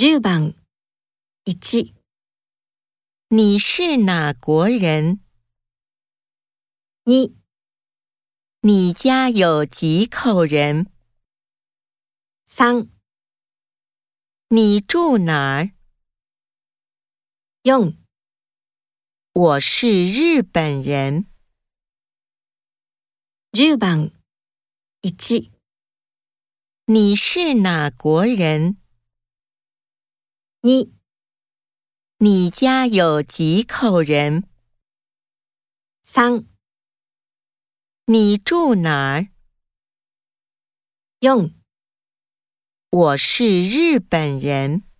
10番1、 你是哪国人？ 2、 你家有几口人？ 3、 你住哪儿？ 4、 我是日本人。 10番1、 你是哪国人？ 2、 你家有几口人？ 3、 你住哪儿？ 4 我是日本人。